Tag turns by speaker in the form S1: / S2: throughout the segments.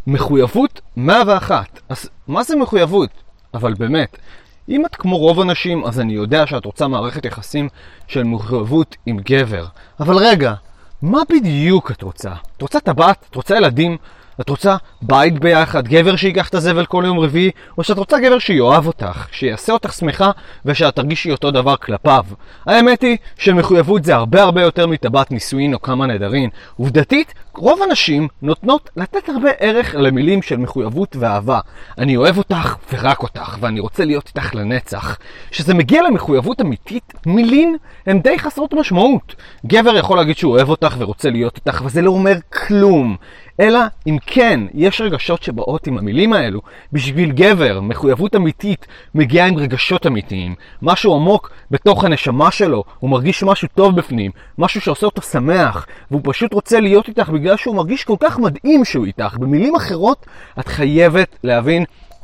S1: מחויבות 101. אז מה זה מחויבות? אבל באמת, אם את כמו רוב אנשים, אז אני יודע שאת רוצה מערכת יחסים של מחויבות עם גבר. אבל רגע, מה בדיוק את רוצה? את רוצה טבעת? את רוצה ילדים? את רוצה בית ביחד? גבר שיקח את הזבל כל יום רביעי? או שאת רוצה גבר שיואב אותך, שיעשה אותך שמחה ושאת תרגישי אותו דבר כלפיו? האמת היא שמחויבות זה הרבה יותר מטבעת נישואין או כמה נדרין. עובדתית, רוב הנשים נותנות לתת הרבה ערך למילים של מחויבות ואהבה. אני אוהב אותך ורק אותך, ואני רוצה להיות איתך לנצח. כשזה מגיע למחויבות אמיתית, מילים הן די חסרות משמעות. גבר יכול להגיד שהוא אוהב אותך ורוצה להיות איתך, וזה לא אומר כלום. אלא אם כן, יש רגשות שבאות עם המילים האלו. בשביל גבר, מחויבות אמיתית מגיעה עם רגשות אמיתיים. משהו עמוק בתוך הנשמה שלו, הוא מרגיש משהו טוב בפנים, משהו שעושה אותו שמח, והוא פשוט רוצה להיות איתך בגלל שהוא מרגיש כל כך מדהים שהוא איתך. במילים אחרות, את חייבת להבין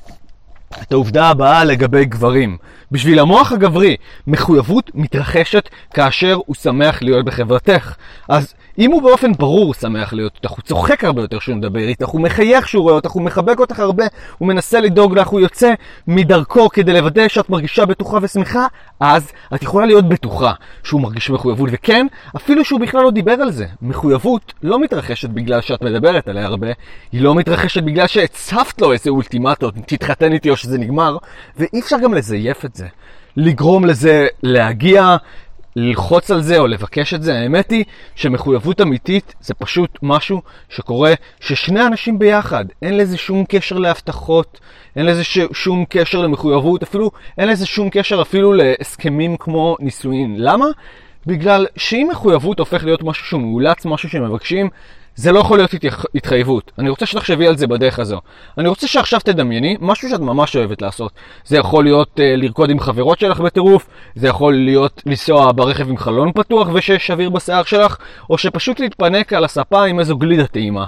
S1: את העובדה הבאה לגבי גברים. בשביל המוח הגברי, מחויבות מתרחשת כאשר הוא שמח להיות בחברתך. אז אם הוא באופן ברור שמח להיות איתך, הוא צוחק הרבה יותר שהוא מדבר איתך, הוא מחייך שהוא רואה אותך, הוא מחבק אותך הרבה, הוא מנסה לדאוג לך, הוא יוצא מדרכו כדי לוודא שאת מרגישה בטוחה ושמחה, אז את יכולה להיות בטוחה שהוא מרגיש מחויבות. וכן, אפילו שהוא בכלל לא דיבר על זה. מחויבות לא מתרחשת בגלל שאת מדברת עליה הרבה, היא לא מתרחשת בגלל שהצפת לו איזה אולטימטות, תתחתן איתי או שזה נגמר, ואי אפשר גם לזייף את זה. לגרום לזה להגיע, ללחוץ על זה או לבקש את זה. האמת היא שמחויבות אמיתית זה פשוט משהו שקורה ששני אנשים ביחד. אין לזה שום קשר להבטחות, אין לזה שום קשר למחויבות, אפילו אין לזה שום קשר אפילו להסכמים כמו נישואין. למה? בגלל שאם מחויבות הופך להיות משהו שהוא מאולץ, משהו שמבקשים, זה לא יכול להיות התחייבות. אני רוצה שתחשבי על זה בדרך הזו. אני רוצה שעכשיו תדמייני משהו שאת ממש אוהבת לעשות. זה יכול להיות לרקוד עם חברות שלך בטירוף, זה יכול להיות לנסוע ברכב עם חלון פתוח ושיש אוויר בשיער שלך, או שפשוט להתפנק על הספה עם איזו גלידה טעימה.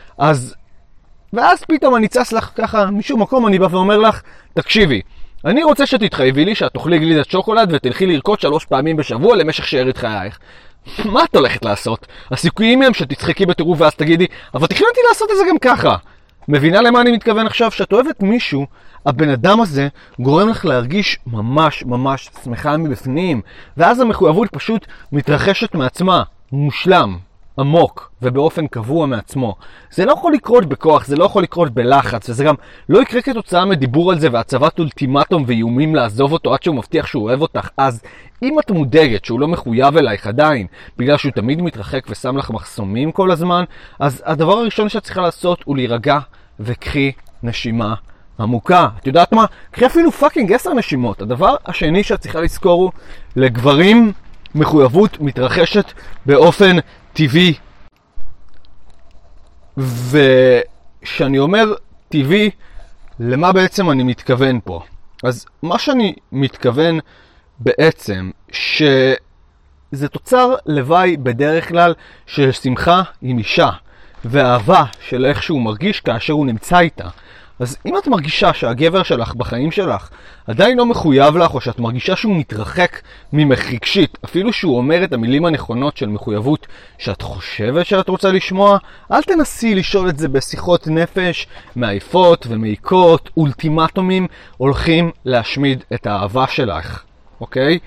S1: ואז פתאום אני צס לך ככה משום מקום, אני בא ואומר לך, תקשיבי, אני רוצה שתתחייבי לי שאת תאכלי גלידת שוקולד ותלכי לרקוד 3 פעמים בשבוע למשך שארית חייך. מה את הולכת לעשות? הסיכויים הם שתצחקי בטירוף ואז תגידי, אבל תכננתי לעשות את זה גם ככה. מבינה למה אני מתכוון עכשיו? שאת אוהבת מישהו, הבן אדם הזה גורם לך להרגיש ממש שמחה מבפנים, ואז המחויבות פשוט מתרחשת מעצמה, מושלם, עמוק ובאופן קבוע מעצמו. זה לא יכול לקרות בכוח, זה לא יכול לקרות בלחץ, וזה גם לא יקרה כתוצאה מדיבור על זה והצבת אולטימטום ואיומים לעזוב אותו עד שהוא מבטיח שהוא אוהב אותך. אז אם את מודאגת שהוא לא מחויב אלייך עדיין, בגלל שהוא תמיד מתרחק ושם לך מחסומים כל הזמן, אז הדבר הראשון שאת צריכה לעשות הוא להירגע וקחי נשימה עמוקה. את יודעת מה? קחי אפילו פאקינג 10 נשימות. הדבר השני שאת צריכה לזכור הוא, לגברים מחויבות מתרחשת באופן טבעי. ושאני אומר טבעי, למה בעצם אני מתכוון פה? אז מה שאני מתכוון בעצם, שזה תוצר לוואי בדרך כלל של שמחה עם אישה, ואהבה של איך שהוא מרגיש כאשר הוא נמצא איתה. אז אם את מרגישה שהגבר שלך בחיים שלך עדיין לא מחויב לך, או שאת מרגישה שהוא מתרחק ממך רגשית, אפילו שהוא אומר את המילים הנכונות של מחויבות שאת חושבת שאת רוצה לשמוע, אל תנסי לשאול את זה בשיחות נפש מעייפות ומעיקות. אולטימטומים הולכים להשמיד את האהבה שלך, אוקיי?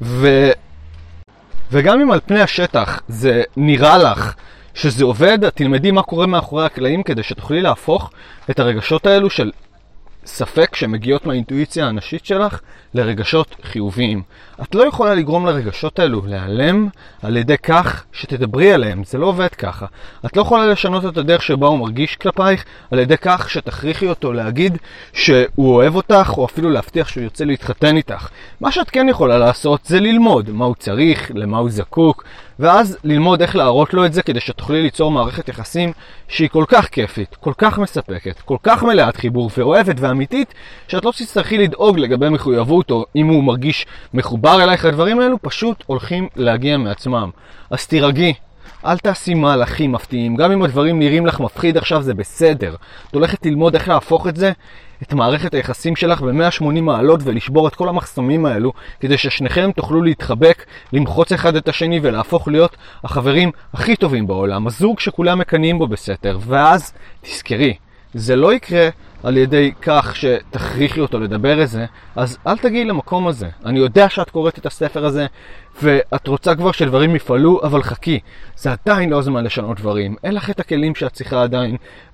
S1: וגם אם על פני השטח זה נראה לך שזה עובד, תלמדי מה קורה מאחורי הקלעים כדי שתוכלי להפוך את הרגשות האלו של ספק שמגיעות מהאינטואיציה הנשית שלך לרגשות חיוביים. את לא יכולה לגרום לרגשות האלו להיעלם על ידי כך שתדברי עליהם, זה לא עובד ככה. את לא יכולה לשנות את הדרך שבה הוא מרגיש כלפייך על ידי כך שתכריחי אותו להגיד שהוא אוהב אותך, או אפילו להבטיח שהוא ירצה להתחתן איתך. מה שאת כן יכולה לעשות זה ללמוד מה הוא צריך, למה הוא זקוק, ואז ללמוד איך להראות לו את זה כדי שתוכלי ליצור מערכת יחסים שהיא כל כך כיפית, כל כך מספקת, כל כך מלאת חיבור ואוהבת ואמיתית, שאת לא תצטרכי לדאוג לגבי מחויבות, או אם הוא מרגיש מחובר אלייך. הדברים האלו פשוט הולכים להגיע מעצמם. אז תירגעי, אל תעשי מהלכים מפתיעים. גם אם הדברים נראים לך מפחיד עכשיו, זה בסדר. את הולכת ללמוד איך להפוך את מערכת היחסים שלך ב-180 מעלות ולשבור את כל המחסומים האלו, כדי ששניכם תוכלו להתחבק, למחוץ אחד את השני ולהפוך להיות החברים הכי טובים בעולם, הזוג שכולם מקנאים בו בסתר. ואז תזכרי, זה לא יקרה על ידי כך שתכריחי אותו לדבר את זה, אז אל תגיעי למקום הזה. אני יודע שאת קוראת את הספר הזה, ואת רוצה כבר שדברים יפעלו, אבל חכי. זה עדיין לא זמן לשנות דברים. אין לך את הכלים שאת צריכה עדיין,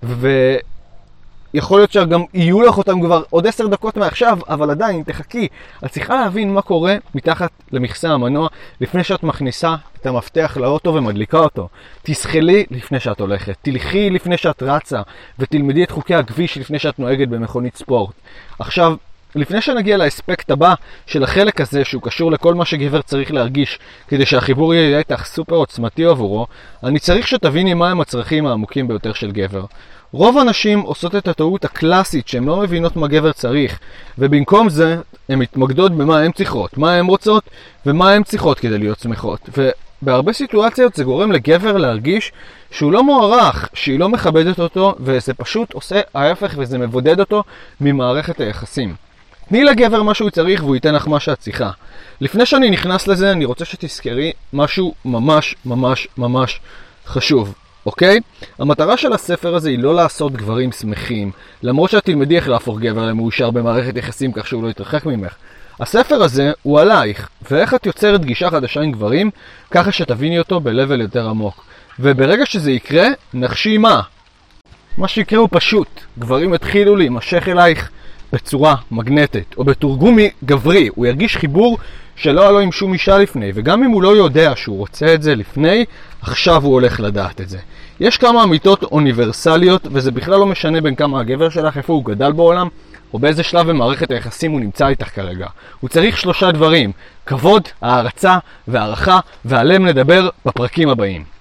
S1: יכול להיות שגם יהיו לך אותם כבר עוד 10 דקות מעכשיו, אבל עדיין תחכי. את צריכה להבין מה קורה מתחת למכסה המנוע לפני שאת מכניסה את המפתח לאוטו ומדליקה אותו. תסחלי לפני שאת הולכת, תלכי לפני שאת רצה, ותלמדי את חוקי הכביש לפני שאת נוהגת במכונית ספורט. עכשיו, לפני שנגיע לאספקט הבא של החלק הזה, שהוא קשור לכל מה שגבר צריך להרגיש כדי שהחיבור יהיה איתך סופר עוצמתי עבורו, אני צריך שתביני מהם הצרכים העמוקים ביותר של גבר. רוב הנשים עושות את הטעות הקלאסית שהן לא מבינות מה גבר צריך, ובמקום זה הן מתמקדות במה הן צריכות, מה הן רוצות ומה הן צריכות כדי להיות שמחות. ובהרבה סיטואציות זה גורם לגבר להרגיש שהוא לא מוערך, שהיא לא מכבדת אותו, וזה פשוט עושה ההפך וזה מבודד אותו ממערכת היחסים. תני לגבר מה שהוא צריך והוא ייתן לך מה שאת צריכה. לפני שאני נכנס לזה אני רוצה שתזכרי משהו ממש ממש ממש חשוב. אוקיי? המטרה של הספר הזה היא לא לעשות גברים שמחים, למרות שאת תלמדי איך להפוך גבר למאושר במערכת יחסים כך שהוא לא יתרחק ממך. הספר הזה הוא עלייך, ואיך את יוצרת גישה חדשה עם גברים, ככה שתביני אותו בלבל יותר עמוק. וברגע שזה יקרה, נחשי מה? מה שיקרה הוא פשוט, גברים התחילו להימשך אלייך בצורה מגנטית, או בתרגום גברי, הוא ירגיש חיבור שלא היה לו עם שום אישה לפני, וגם אם הוא לא יודע שהוא רוצה את זה לפני, עכשיו הוא הולך לדעת את זה. יש כמה אמיתות אוניברסליות, וזה בכלל לא משנה בין כמה הגבר שלך, איפה הוא גדל בעולם, או באיזה שלב במערכת היחסים הוא נמצא איתך כרגע. הוא צריך 3 דברים, כבוד, הערצה והערכה, ועליהם נדבר בפרקים הבאים.